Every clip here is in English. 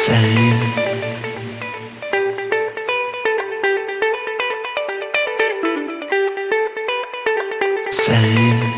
Same. Same.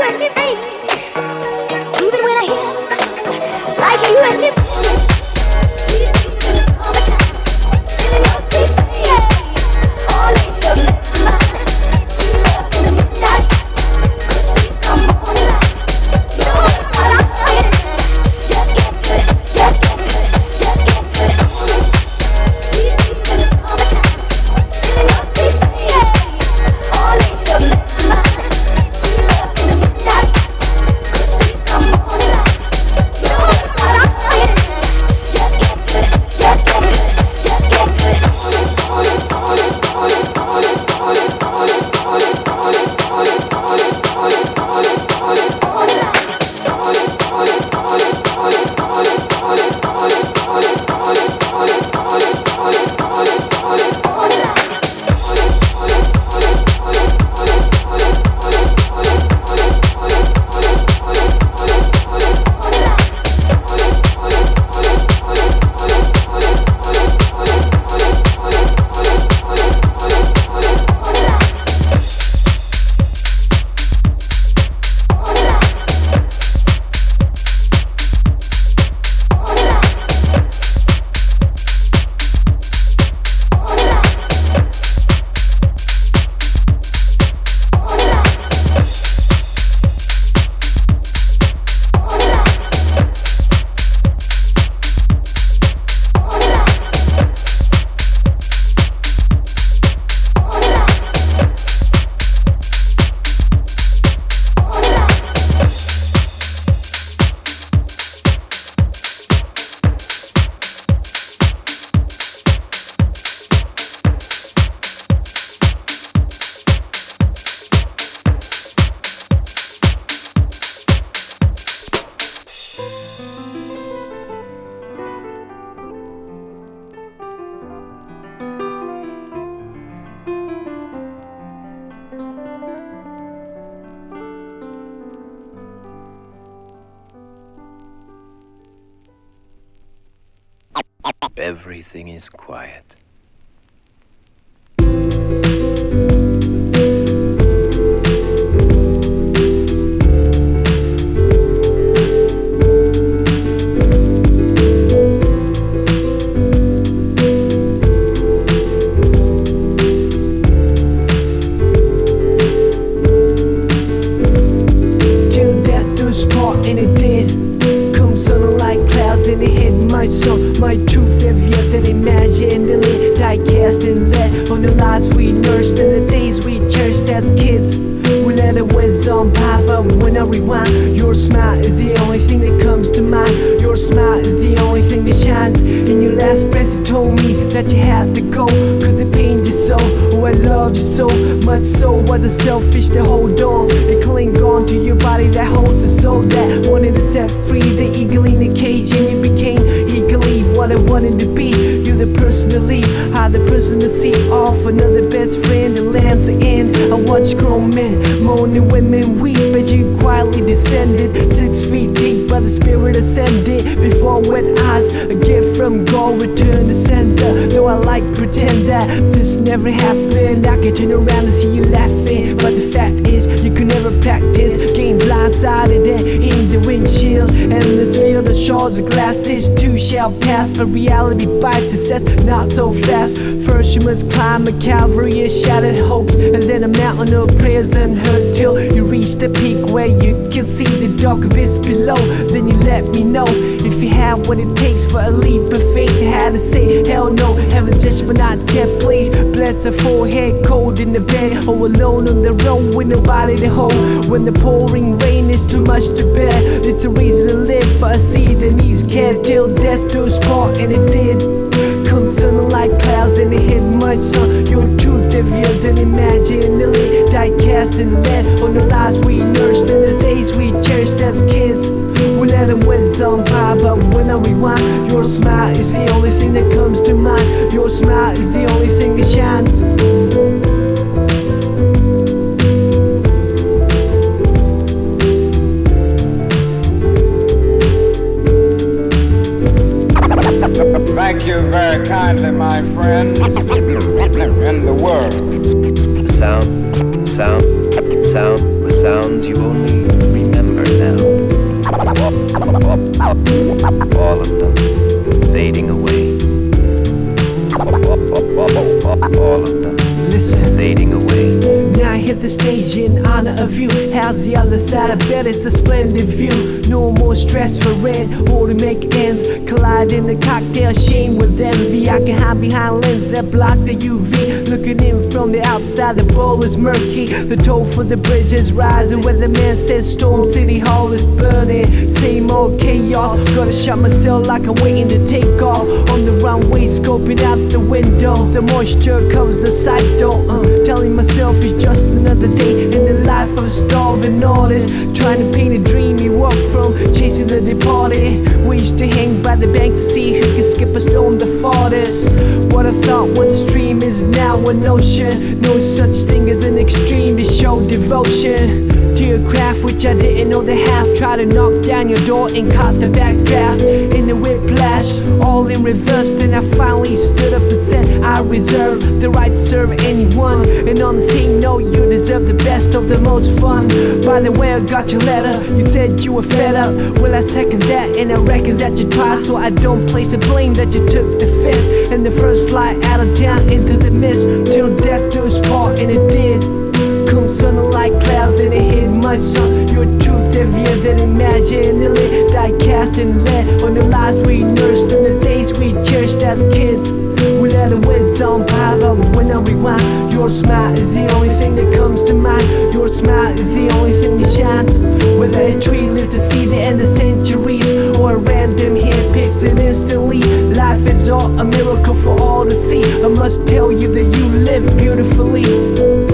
Everything is quiet. My truth heavier than imaginally diecast and let on the lies we nursed and the days we cherished as kids. We let it whiz on by, but when I rewind, your smile is the only thing that comes to mind. Your smile is the only thing that shines. In your last breath you told me that you had to go, cause it pained you so. Oh, I loved you so much, so was it selfish to hold on and cling on to your body that holds a soul that wanted to set free the eagle in the cage, and you became eagerly what I wanted to be. You're the person to leave, I'm the person to see off another best friend that lands the end. I watch grown men moaning, women weep as you quietly descended 6 feet deep, by the spirit ascended before wet eyes. A gift from God returned to sender. Though I like pretend that this never happened, I can turn around and see you laughing, but the fact is you could never practice. Getting blindsided and in the windshield, and let's feel the shards of glass. This too shall pass, but reality bites us not so fast. First you must climb a Calvary of shattered hopes, and then a mountain of prayers unheard, till you reach the peak where you can see the dark abyss below. Then you let me know if you have what it takes for a leap of faith. I had to say hell no, heaven judgment not yet, please. Bless the forehead, cold in the bed, or alone on the road with nobody to hold. When the pouring rain is too much to bear, it's a reason to live for a seed that needs care, till death do us part, and it did. Come sun like clouds and it hit my son. Your truth heavier than imaginally diecast and led on the lies we nursed and the days we cherished as kids. We let them win on by, but when I rewind, your smile is the only thing that comes to mind. Your smile is the only thing that shines. Thank you very kindly, my friend, in the world. Sound. The sounds you only remember now. All of them fading away. All of them fading away. Now I hit the stage in honor of you. How's the other side? I bet it's a splendid view. No more stress for rent or to make ends. Collide in the cocktail sheen with envy. I can hide behind lenses that block the UV. Looking in from the outside, the bowl is murky. The toll for the bridge is rising. Where the man says Storm City Hall is burning. Same old chaos. Gotta shut myself like I'm waiting to take off. On the runway, scoping out the window. The moisture covers the sight door. Telling myself it's just another day in the life of a starving artist. Trying to paint a dream he walked from, chasing the departed. We used to hang by the banks to see who can skip a storm the farthest. What I thought was a stream is now an ocean. No such thing as an extreme to show devotion to your craft, which I didn't know the half. Try to knock down your door and caught the backdraft. In the whiplash, all in reverse. Then I finally stood up and said I reserve the right to serve anyone. And on the same note, you deserve the best of the most fun. By the way, I got your letter. You said you were fed up. Well, I second that, and I reckon that you tried. So I don't place the blame that you took the fifth and the first flight out of town into the mist. Till death do us part, and it did. Come sun like clouds and it hit my son. Your truth heavier than imaginally. Die cast and led on the lives we nursed and the days we cherished as kids. We let the winds on by, but when I rewind, your smile is the only thing that comes to mind. Your smile is the only thing that shines. Whether a tree lived to see the end of centuries or a random hand picks it instantly. Life is all a miracle for all to see. I must tell you that you live beautifully.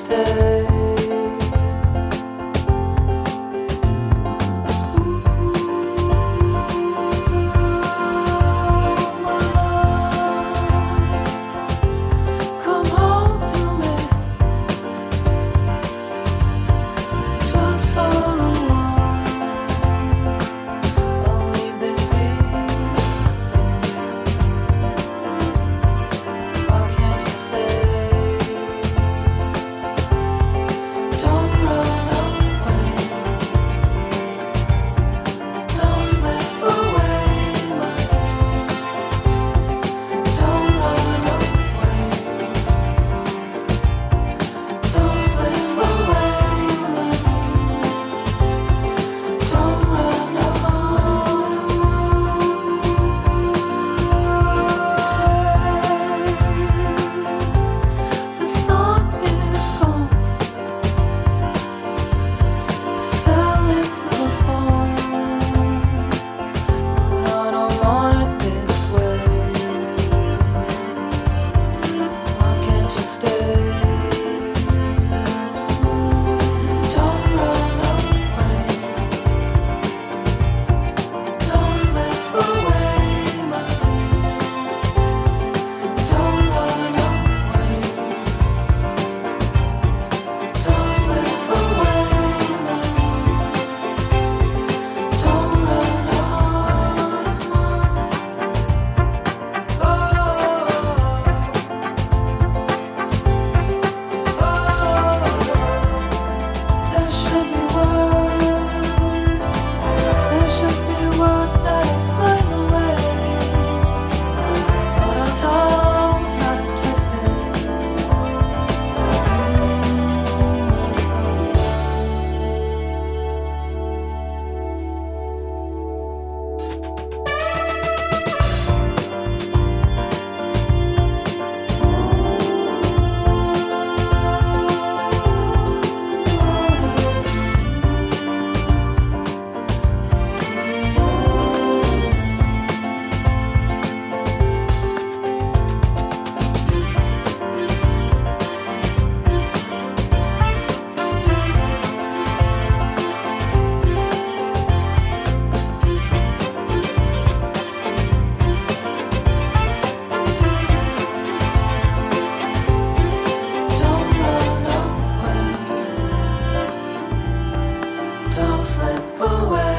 Don't slip away.